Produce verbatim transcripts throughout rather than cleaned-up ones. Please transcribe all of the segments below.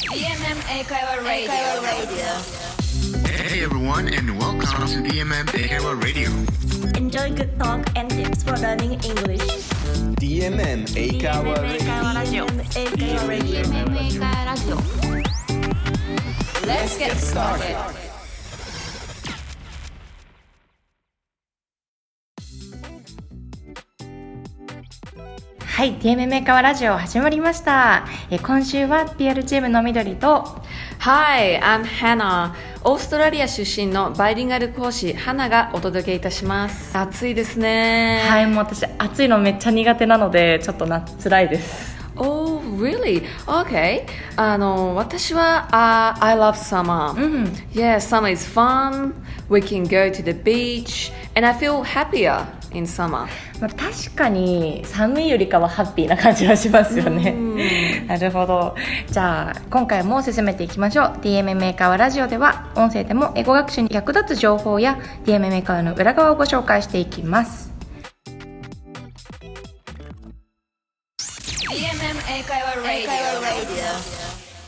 ディーエムエム 英会話 Radio. Hey everyone, and welcome to ディーエムエム 英会話 Radio. Enjoy good talk and tips for learning English. ディーエムエム 英会話 Radio。 ディーエムエム 英会話 Radio。 ディーエムエム 英会話ラジオ Let's get started. はい、ディーエムエム 英会話ラジオ始まりました。え今週は ピーアール チームの緑と Hi, I'm Hannah. オーストラリア出身のバイリンガル講師ハナがお届けいたします。暑いですね。 はい、もう私暑いのめっちゃ苦手なのでちょっと夏つらいです。 Oh, really? Okay. あの私は、uh, I love summer. うん、 Yeah, summer is fun. We can go to the beach, and I feel happier in summer. まあ、確かに寒いよりかはハッピーな感じはしますよね。なるほど。じゃあ今回も進めていきましょう。 ディーエムエム 英会話ラジオでは音声でも英語学習に役立つ情報や ディーエムエム 英会話の裏側をご紹介していきます。 ディーエムエム 英会話 Radio.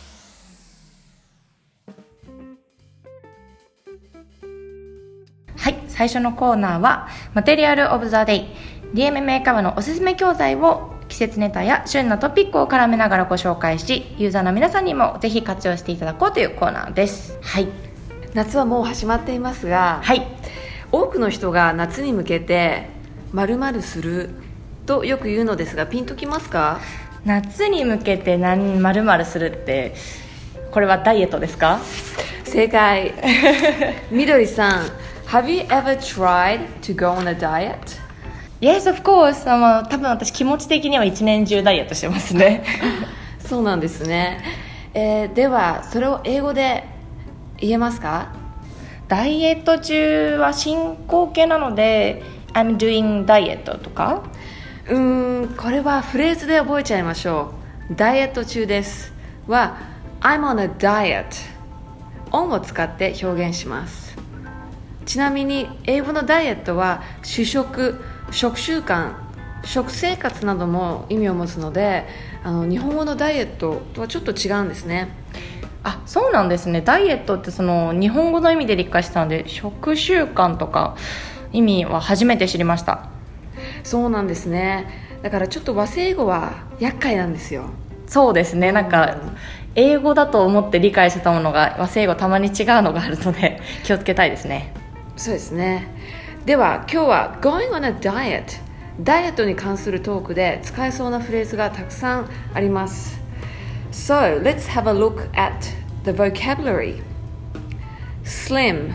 はい、最初のコーナーはマテリアルオブザデイ。 ディーエムエム 英会話のおすすめ教材を季節ネタや旬なトピックを絡めながらご紹介し、ユーザーの皆さんにもぜひ活用していただこうというコーナーです。はい、 夏はもう始まっていますが、 はい、 多くの人が夏に向けて〇〇するとよく言うのですが、ピンときますか？ 夏に向けて何〇〇するって、これはダイエットですか？ 正解。みどりさん、Have you ever tried to go on a diet? Yes, of course. あの多分私気持ち的には一年中ダイエットしてますね。 そうなんですね。えー、ではそれを英語で言えますか？ ダイエット中は進行形なので I'm doing diet とか、 うーん、これはフレーズで覚えちゃいましょう。ダイエット中ですは I'm on a diet。 on を使って表現します。ちなみに英語のダイエットは主食、食習慣、食生活なども意味を持つので、あの日本語のダイエットとはちょっと違うんですね。 あ、そうなんですね。ダイエットってその日本語の意味で理解したので、食習慣とか意味は初めて知りました。 そうなんですね。だからちょっと和製英語は厄介なんですよ。 そうですね。なんか英語だと思って理解してたものが和製英語たまに違うのがあるので気をつけたいですね。 そうですね。では今日は Going on a diet、 ダイエットに関するトークで使えそうなフレーズがたくさんあります。 So let's have a look at the vocabulary. Slim,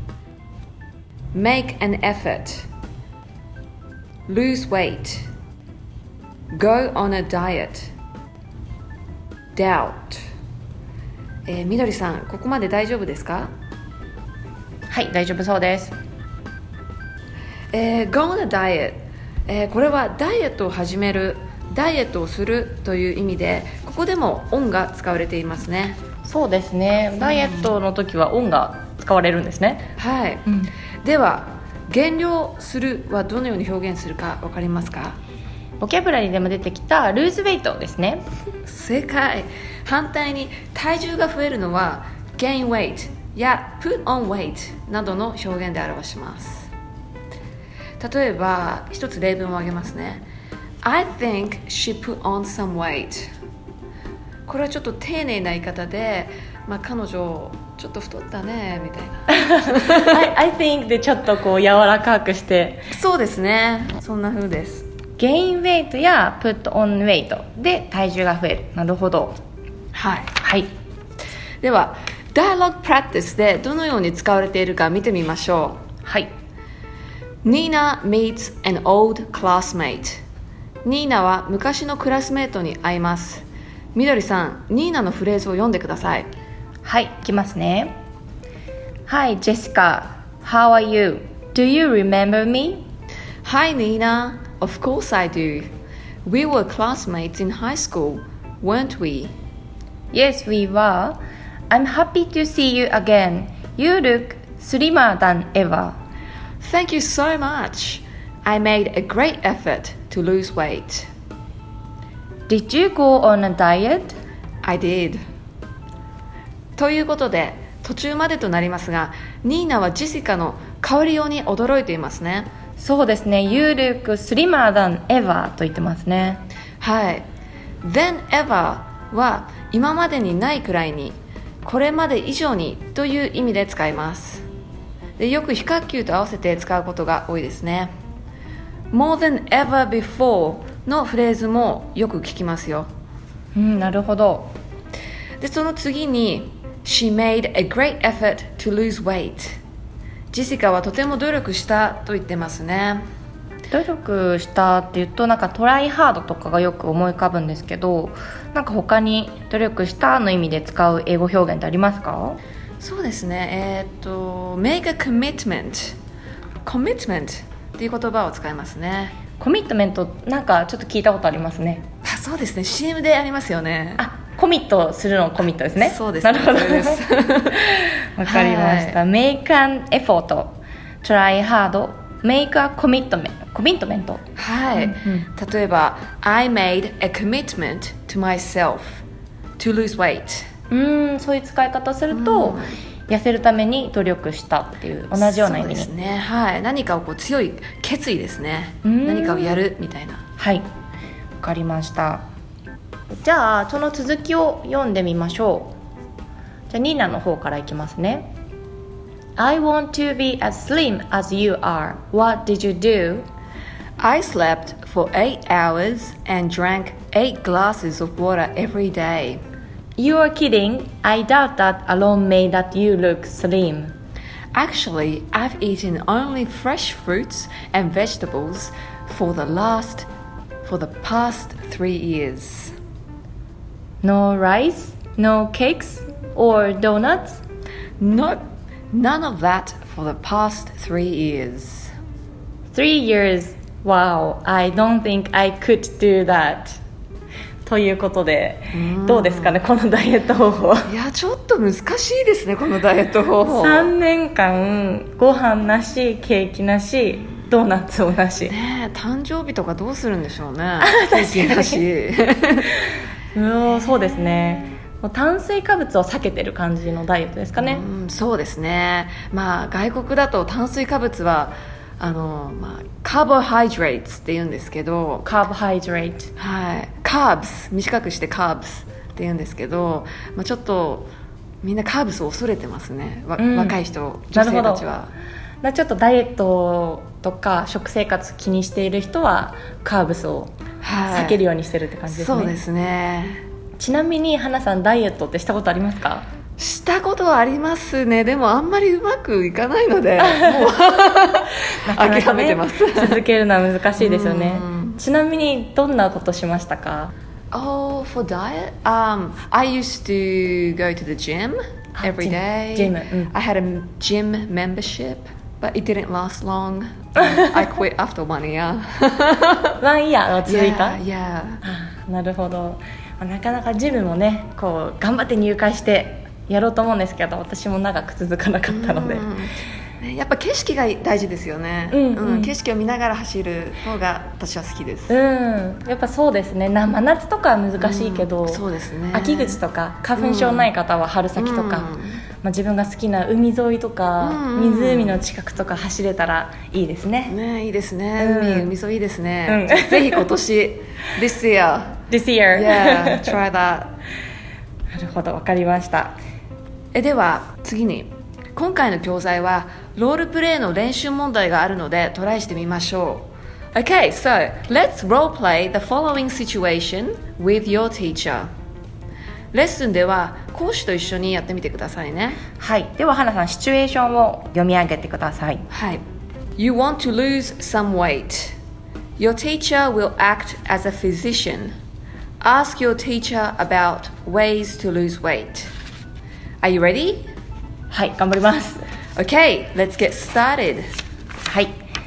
make an effort, lose weight, go on a diet, doubt。 えー、みどりさん、ここまで大丈夫ですか？ はい、大丈夫そうです。 えー、Go on a diet、えー、これはダイエットを始める、ダイエットをするという意味で、ここでも on が使われていますね。 そうですね。ダイエットの時は on が使われるんですね。 はい、 うん、 では減量するはどのように表現するか分かりますか？ ボキャブラリーでも出てきたルーズウェイトですね。 正解。反対に体重が増えるのは gain weight や put on weight などの表現で表します。例えば一つ例文を挙げますね。 I think she put on some weight。 これはちょっと丁寧な言い方で、まあ、彼女ちょっと太ったねみたいな I, I think でちょっとこう柔らかくして、 そうですね、そんな風です。 gain weight や put on weight で体重が増える。なるほど。 はい、 はい、 では Dialogue Practice でどのように使われているか見てみましょう。 はい。 Nina meets an old classmate。 ニーナは昔のクラスメートに会います。みどりさん、ニーナのフレーズを読んでください。 はい、いきますね。 Hi Jessica, how are you? Do you remember me? Hi Nina, of course I do. We were classmates in high school, weren't we? Yes, we were. I'm happy to see you again. You look slimmer than ever. Thank you so much. I made a great effort to lose weight. Did you go on a diet? I did. ということで途中までとなりますが、ニーナはジェシカの変わりように驚いていますね。 そうですね。You look slimmer than ever と言ってますね。 はい。than ever は今までにないくらいに、これまで以上にという意味で使います。で、よく非括球と合わせて使うことが多いですね。more than ever before のフレーズもよく聞きますよ。 うん、なるほど。 で、その次に She made a great effort to lose weight。 ジェシカはとても努力したと言ってますね。 努力したって言うとなんかトライハードとかがよく思い浮かぶんですけど、なんか他に努力したの意味で使う英語表現ってありますか？ そうですね、えー、っと make a commitment commitment っていう言葉を使いますね。 コミットメント、なんかちょっと聞いたことありますね。 あ、そうですね、 シーエム でありますよね。 あ、コミットするのコミットですね。 そうです、 なるほど。 それですわかりました、はい、make an effort try hard make a commitment コミットメント、 はい、うんうん、例えば I made a commitment to myself to lose weight。 うーん、そういう使い方すると、痩せるために努力したっていう同じような意味に。 そうですね、はい、何かをこう強い決意ですね。何かをやるみたいな。 はい、わかりました。じゃあその続きを読んでみましょう。じゃあニーナの方からいきますね。 I want to be as slim as you are. What did you do? I slept for eight hours and drank eight glasses of water every day. You are kidding. I doubt that alone made that you look slim. Actually, I've eaten only fresh fruits and vegetables for the last, for the past three years. No rice, no cakes or donuts? No, none of that for the past three years. Three years. Wow, I don't think I could do that. ということで、どうですかね、このダイエット方法。 いや、ちょっと難しいですね、このダイエット方法。 さんねんかんご飯なし、ケーキなし、ドーナツもなし。 ねえ、誕生日とかどうするんでしょうね。ケーキなし。 うん、そうですね。炭水化物を避けてる感じのダイエットですかね。 うん、そうですね。まあ外国だと炭水化物はあの、まあ、カーボハイドレートって言うんですけど、 カーボハイドレート、 はい、カーブス、短くしてカーブスって言うんですけど、まあ、ちょっとみんなカーブスを恐れてますね、うん、若い人、女性たちは。 なちょっとダイエットとか食生活気にしている人はカーブスを避けるようにしてるって感じですね。 そうですね。 ちなみに花さん、ダイエットってしたことありますか？ したことはありますね。でもあんまりうまくいかないのでもう諦めてます。 続けるのは難しいですよね。ちなみにどんなことしましたか？ Oh, for diet? Um, I used to go to the gym every day. Gym, gym. I had a gym membership, but it didn't last long. I quit after one year. ワンイヤーが続いた？ Yeah, yeah. なるほど。なかなかジムもね、こう頑張って入会してやろうと思うんですけど、私も長く続かなかったので、 やっぱ景色が大事ですよね、うんうんうん、景色を見ながら走る方が私は好きです、うん、 やっぱそうですね。な真夏とかは難しいけど、 うん、そうですね、 秋口とか花粉症ない方は春先とか、うんまあ、自分が好きな海沿いとか、うんうん、湖の近くとか走れたらいいですね。 ね、いいですね、うん、海, 海沿いいいですね、うん、ぜひ今年This year This year Yeah, try that なるほど、わかりました。 えでは次に、今回の教材はロールプレイの練習問題があるのでトライしてみましょう。 Okay, so let's role play the following situation with your teacher。 レッスンでは講師と一緒にやってみてくださいね。 はい、では花さん、シチュエーションを読み上げてください。 はい。 You want to lose some weight. Your teacher will act as a physician. Ask your teacher about ways to lose weight.Are you ready? はい、頑張ります。 Okay, let's get started. はい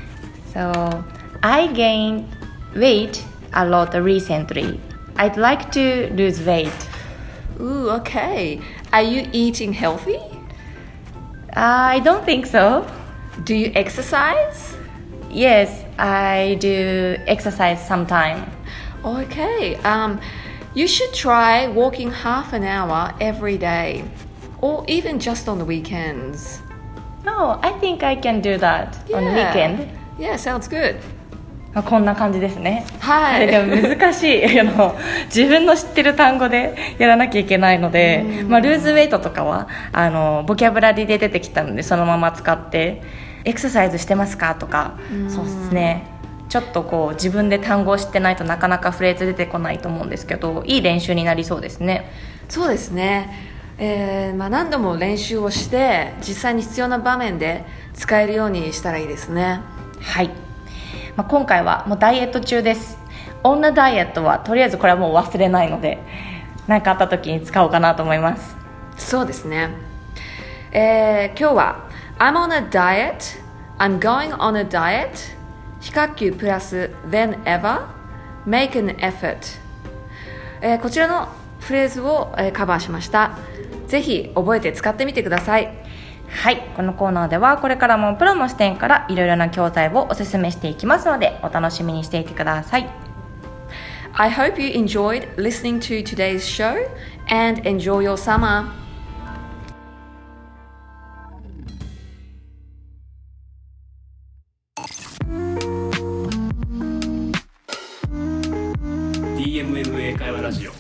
。So, I gained weight a lot recently. I'd like to lose weight. Ooh, okay. Are you eating healthy? I don't think so. Do you exercise? Yes, I do exercise sometime. Okay. Um, you should try walking half an hour every day. or even just on the weekends. No, I think I can do that on the weekend. Yeah, sounds good. まあこんな感じですね。 はい。 でも難しいあの自分の知ってる単語でやらなきゃいけないので、まあ、ルーズウェイトとかはあのボキャブラリーで出てきたのでそのまま使ってエクササイズしてますかとか、そうですね、ちょっとこう自分で単語を知ってないとなかなかフレーズ出てこないと思うんですけど、いい練習になりそうですね。 そうですね、えーまあ、何度も練習をして実際に必要な場面で使えるようにしたらいいですね。 はい、まあ、今回はもうダイエット中です。女ダイエットはとりあえずこれはもう忘れないので何かあった時に使おうかなと思います。 そうですね、えー、今日は I'm on a diet I'm going on a diet 非課級プラス then ever make an effort、えー、こちらのフレーズを、えー、カバーしました。ぜひ覚えて使ってみてください。 はい、このコーナーではこれからもプロの視点からいろいろな教材をおすすめしていきますのでお楽しみにしていてください。 I hope you enjoyed listening to today's show and enjoy your summer. ディーエムエム 英会話ラジオ。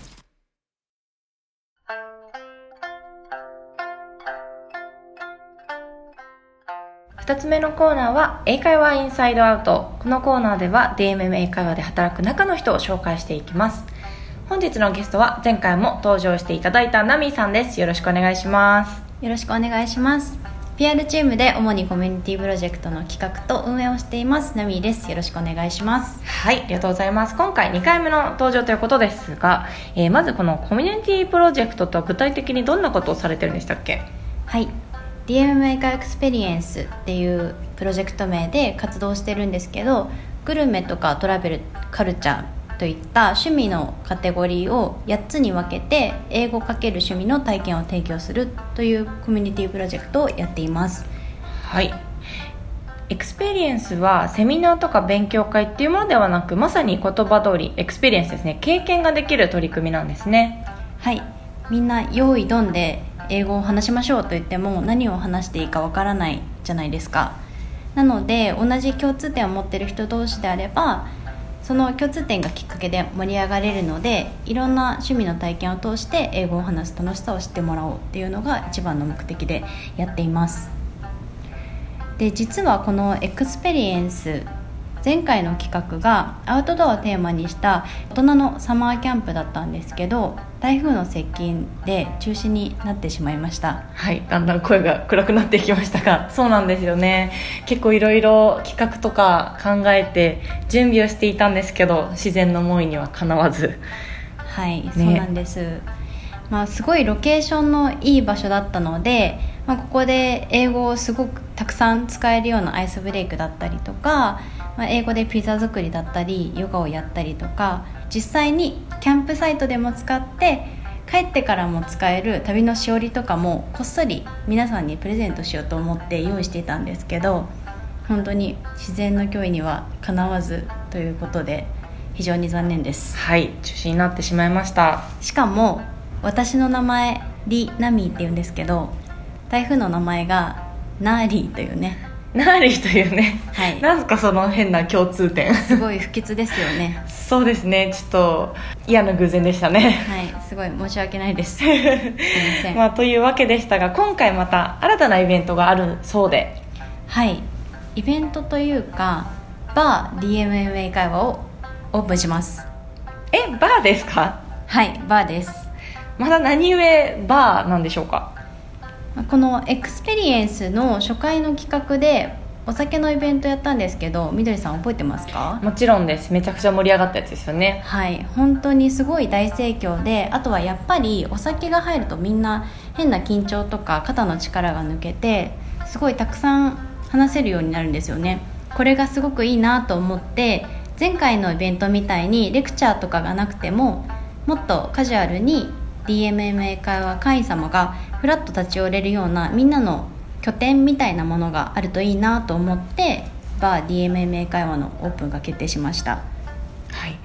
ふたつめのコーナーは英会話インサイドアウト。このコーナーでは ディーエムエム 英会話で働く中の人を紹介していきます。本日のゲストは前回も登場していただいたナミーさんです。よろしくお願いします。 よろしくお願いします。 ピーアール チームで主にコミュニティプロジェクトの企画と運営をしていますナミーです。よろしくお願いします。 はい、ありがとうございます。今回にかいめの登場ということですが、えー、まずこのコミュニティプロジェクトとは具体的にどんなことをされてるんでしたっけ？ はい、 ディーエムエム 英会話エクスペリエンスっていうプロジェクト名で活動してるんですけど、グルメとかトラベル、カルチャーといった趣味のカテゴリーをやっつに分けて英語×趣味の体験を提供するというコミュニティプロジェクトをやっています。 はい、エクスペリエンスはセミナーとか勉強会っていうものではなく、まさに言葉通りエクスペリエンスですね、経験ができる取り組みなんですね。 はい、みんな用意ドンで英語を話しましょうと言っても何を話していいかわからないじゃないですか。なので同じ共通点を持っている人同士であればその共通点がきっかけで盛り上がれるので、いろんな趣味の体験を通して英語を話す楽しさを知ってもらおうっていうのが一番の目的でやっています。で、実はこのエクスペリエンス、前回の企画がアウトドアをテーマにした大人のサマーキャンプだったんですけど、台風の接近で中止になってしまいました。 はい、だんだん声が暗くなってきましたが、そうなんですよね。結構いろいろ企画とか考えて準備をしていたんですけど、自然の思いにはかなわず。 はい、ね、そうなんです。まあ、すごいロケーションのいい場所だったので、まあ、ここで英語をすごくたくさん使えるようなアイスブレイクだったりとか、まあ、英語でピザ作りだったりヨガをやったりとか、実際にキャンプサイトでも使って帰ってからも使える旅のしおりとかもこっそり皆さんにプレゼントしようと思って用意していたんですけど、本当に自然の脅威にはかなわずということで非常に残念です。 はい、中止になってしまいました。 しかも私の名前リナミーっていうんですけど、台風の名前がナーリーというね、 ナーリーというね、 はい、 なんかその変な共通点すごい不吉ですよねそうですね、ちょっと嫌な偶然でしたね。 はい、すごい申し訳ないですすいません、 まあ、というわけでしたが、今回また新たなイベントがあるそうで。 はい、イベントというかバー ディーエムエム 英会話をオープンします。 え、バーですか？ はい、バーです。 まだ何故バーなんでしょうか？ このエクスペリエンスの初回の企画でお酒のイベントやったんですけど、みどりさん覚えてますか？ もちろんです。めちゃくちゃ盛り上がったやつですよね。 はい、本当にすごい大盛況で、あとはやっぱりお酒が入るとみんな変な緊張とか肩の力が抜けてすごいたくさん話せるようになるんですよね。これがすごくいいなと思って、前回のイベントみたいにレクチャーとかがなくてももっとカジュアルに ディーエムエム 英会話会員様がフラッと立ち寄れるようなみんなの拠点みたいなものがあるといいなと思って、バー ディーエムエム 英会話のオープンが決定しました。 はい、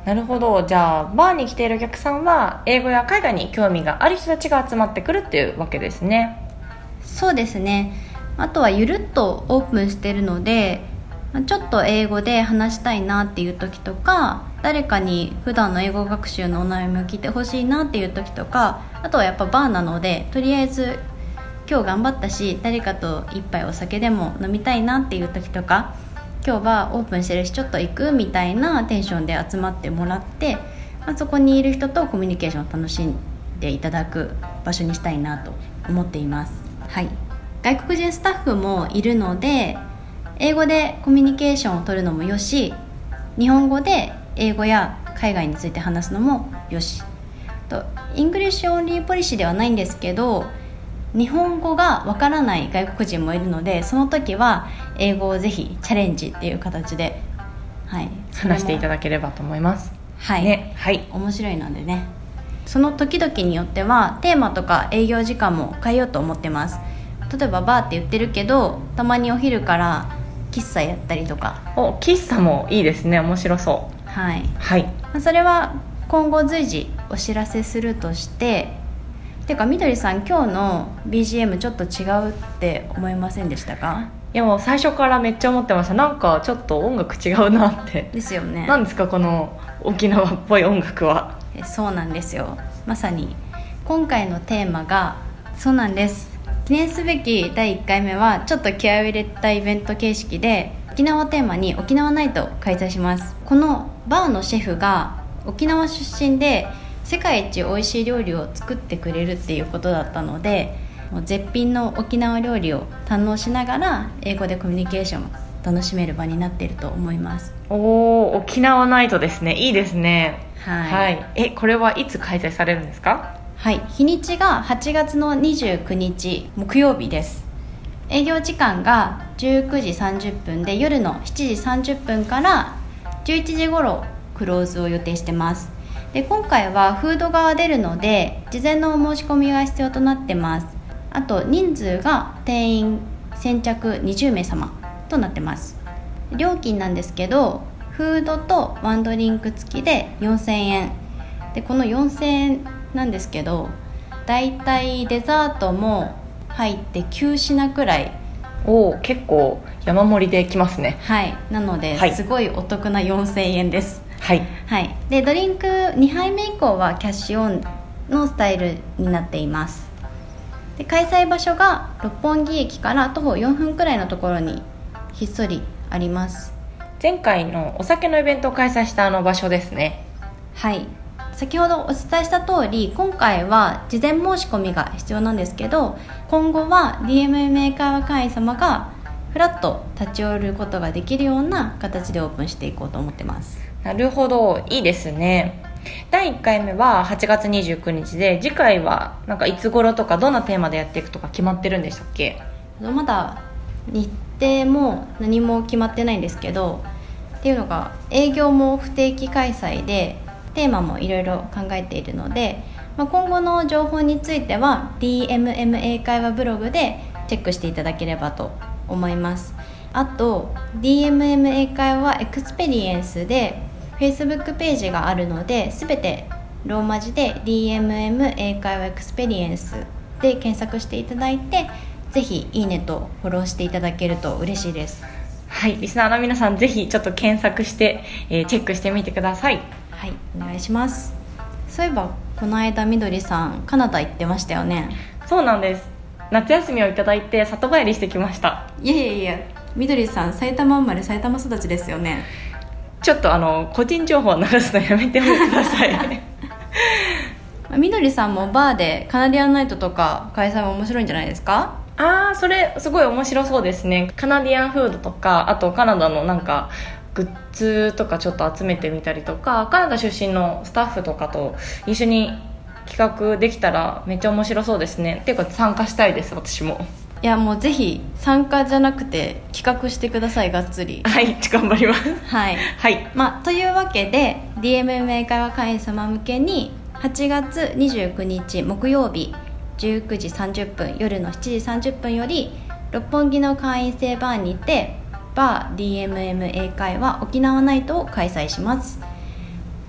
なるほど。じゃあバーに来ているお客さんは英語や海外に興味がある人たちが集まってくるっていうわけですね。 そうですね。あとはゆるっとオープンしてるので、ちょっと英語で話したいなっていう時とか、誰かに普段の英語学習のお悩みを聞いてほしいなっていう時とか、あとはやっぱバーなのでとりあえず今日頑張ったし誰かと一杯お酒でも飲みたいなっていう時とか、今日はオープンしてるしちょっと行くみたいなテンションで集まってもらって、まあ、そこにいる人とコミュニケーションを楽しんでいただく場所にしたいなと思っています。はい、外国人スタッフもいるので英語でコミュニケーションを取るのもよし、日本語で英語や海外について話すのもよしと、イングリッシュオンリーポリシーではないんですけど、日本語がわからない外国人もいるので、その時は英語をぜひチャレンジっていう形で、はい、 話していただければと思います。 はい、 ね、はい、 面白いのでね、その時々によってはテーマとか営業時間も変えようと思ってます。例えばバーって言ってるけど、たまにお昼から喫茶やったりとか。 お、喫茶もいいですね。面白そう。 はい、 はい、 それは今後随時お知らせするとして、てかみどりさん、今日の ビージーエム ちょっと違うって思いませんでしたか？ いやもう最初からめっちゃ思ってました。なんかちょっと音楽違うなってですよね。 なんですかこの沖縄っぽい音楽は。 えそうなんですよ。まさに今回のテーマがそうなんです。記念すべきだいいっかいめはちょっと気合を入れたイベント形式で沖縄をテーマに沖縄ナイトを開催します。このバーのシェフが沖縄出身で世界一美味しい料理を作ってくれるっていうことだったので、もう絶品の沖縄料理を堪能しながら英語でコミュニケーションを楽しめる場になっていると思います。 おー、沖縄ナイトですね。いいですね。 はい、 はい、えこれはいつ開催されるんですか？ はい、日にちがはちがつのにじゅうくにち木曜日です。営業時間がじゅうくじさんじゅっぷんで、夜のしちじさんじゅっぷんからじゅういちじ頃クローズを予定してます。で今回はフードが出るので事前のお申し込みが必要となってます。あと人数が定員先着にじゅうめい様となってます。料金なんですけど、フードとワンドリンク付きでよんせんえんで、このよんせんえんなんですけど、だいたいデザートも入ってきゅうしなくらい。 おー、結構山盛りできますね。 はい、なので、 はい、 すごいお得なよんせんえんです。 はい、 はい、でドリンクにはいめ以降はキャッシュオンのスタイルになっています。で開催場所が六本木駅から徒歩よんぷんくらいのところにひっそりあります。 前回のお酒のイベントを開催したあの場所ですね。 はい、先ほどお伝えした通り、今回は事前申し込みが必要なんですけど、今後は ディーエムエム 英会話会員様がフラッと立ち寄ることができるような形でオープンしていこうと思ってます。 なるほど、いいですね。だいいっかいめははちがつにじゅうくにちで、次回はなんかいつ頃とかどんなテーマでやっていくとか決まってるんでしたっけ？ まだ日程も何も決まってないんですけど、っていうのが営業も不定期開催でテーマもいろいろ考えているので、まあ、今後の情報については ディーエムエム 英会話ブログでチェックしていただければと思います。あと ディーエムエム 英会話エクスペリエンスで Facebook ページがあるので、すべてローマ字で ディーエムエム 英会話エクスペリエンスで検索していただいて、ぜひいいねとフォローしていただけると嬉しいです。 はい、リスナーの皆さんぜひちょっと検索して、えー、チェックしてみてください。 はい、お願いします。そういえばこの間みどりさんカナダ行ってましたよね。 そうなんです。夏休みをいただいて里帰りしてきました。 いやいやいや、みどりさん埼玉生まれ埼玉育ちですよね。 ちょっとあの個人情報を流すのやめてくださいみどりさんもバーでカナディアンナイトとか開催も面白いんじゃないですか？ あー、それすごい面白そうですね。カナディアンフードとか、あとカナダのなんかグッズとかちょっと集めてみたりとか、カナダ出身のスタッフとかと一緒に企画できたらめっちゃ面白そうですね。っていうか参加したいです、私も。 いやもうぜひ参加じゃなくて企画してください、がっつり。 はい、頑張ります。 はい、 はい、 まあ、というわけで ディーエムエム 英会話会員様向けにはちがつにじゅうくにち木曜日じゅうくじさんじゅっぷん、夜のしちじさんじゅっぷんより六本木の会員制バーにてバー ディーエムエム 英会話沖縄ナイトを開催します。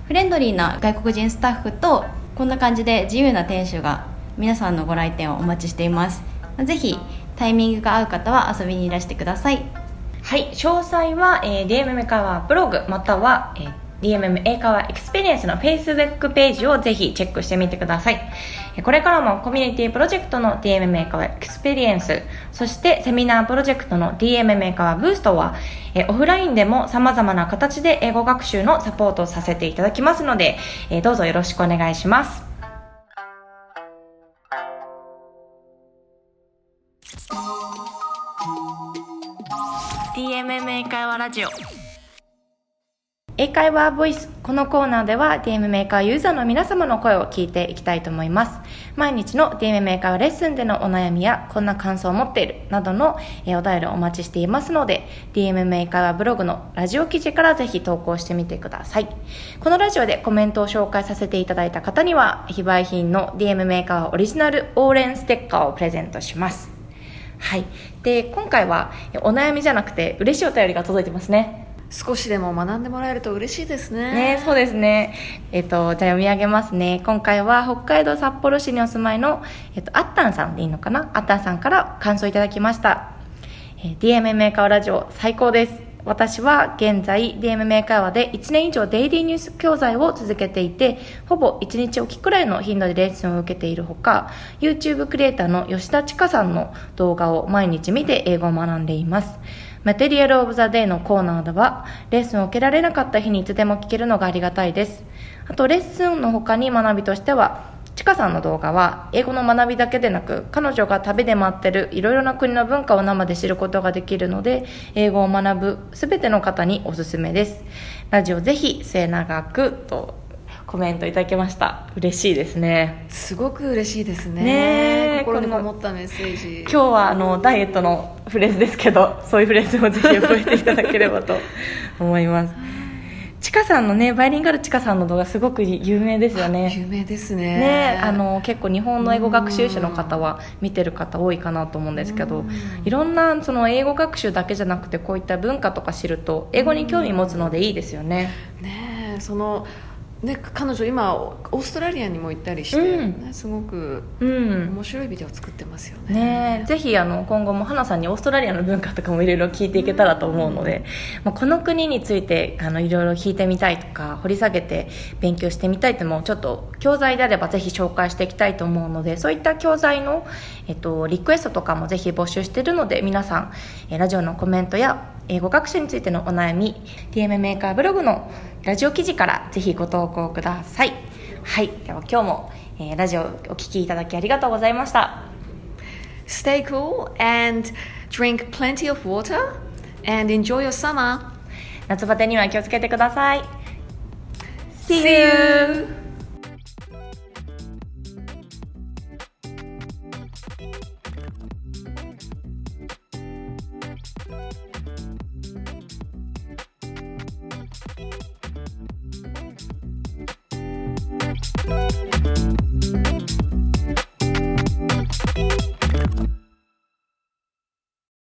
フレンドリーな外国人スタッフとこんな感じで自由な店主が皆さんのご来店をお待ちしています。ぜひタイミングが合う方は遊びにいらしてください。 はい、詳細は、えー、ディーエムエム 英会話ブログまたは、えー、ディーエムエム 英会話エクスペリエンスの Facebook ページをぜひチェックしてみてください。これからもコミュニティプロジェクトの ディーエムエム 英会話エクスペリエンス、そしてセミナープロジェクトの ディーエムエム 英会話ブーストは、えー、オフラインでも様々な形で英語学習のサポートをさせていただきますので、えー、どうぞよろしくお願いします。ディーエムエム 英会話ラジオ英会話ボイス。このコーナーでは ディーエムエム 英会話ユーザーの皆様の声を聞いていきたいと思います。毎日の ディーエムエム 英会話レッスンでのお悩みやこんな感想を持っているなどのお便りをお待ちしていますので、 ディーエムエム 英会話ブログのラジオ記事からぜひ投稿してみてください。このラジオでコメントを紹介させていただいた方には非売品の ディーエムエム 英会話オリジナルオーレンステッカーをプレゼントします。はい、で今回はお悩みじゃなくて嬉しいお便りが届いてますね。 少しでも学んでもらえると嬉しいですね。 ね、そうですね。えっと、じゃあ読み上げますね。今回は北海道札幌市にお住まいの、えっと、あったんさんでいいのかな、あったんさんから感想いただきました。えー、ディーエムエム 英会話ラジオ最高です。私は現在 ディーエムエム 英会話でいちねん以上デイリーニュース教材を続けていて、ほぼいちにちおきくらいの頻度でレッスンを受けているほか、 YouTube クリエイターの吉田千佳さんの動画を毎日見て英語を学んでいます。マテリアルオブザデイのコーナーではレッスンを受けられなかった日にいつでも聞けるのがありがたいです。あとレッスンの他に学びとしては、ちかさんの動画は英語の学びだけでなく、彼女が旅で回ってるいろいろな国の文化を生で知ることができるので、英語を学ぶすべての方におすすめです。ラジオぜひ末永くとコメントいただきました。嬉しいですね。 すごく嬉しいですね。 ね、 心にこもったメッセージ。 今日はあのダイエットのフレーズですけど、そういうフレーズもぜひ覚えていただければと思います。ちかさんのね、バイリンガルちかさんの動画すごく有名ですよね。 有名ですね。 ね、あの結構日本の英語学習者の方は見てる方多いかなと思うんですけど、いろんなその英語学習だけじゃなくてこういった文化とか知ると英語に興味持つのでいいですよね。 ね、そのね、彼女今オーストラリアにも行ったりして、うんね、すごく面白いビデオを作ってますよね。 ね、ぜひあの今後も花さんにオーストラリアの文化とかもいろいろ聞いていけたらと思うので、まあ、この国についてあのいろいろ聞いてみたいとか掘り下げて勉強してみたいともちょっと教材であればぜひ紹介していきたいと思うので、そういった教材の、えっと、リクエストとかもぜひ募集しているので、皆さんえラジオのコメントや英語学習についてのお悩み ディーエムエム 英会話ブログのラジオ記事からぜひご投稿ください。はい、では今日も、えー、ラジオをお聞きいただきありがとうございました。 Stay cool and drink plenty of water and enjoy your summer. 夏バテには気をつけてください。 See you!